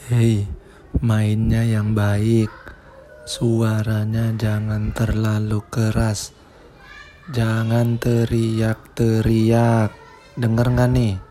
Hei, mainnya yang baik. Suaranya jangan terlalu keras. Jangan teriak-teriak. Dengar gak nih?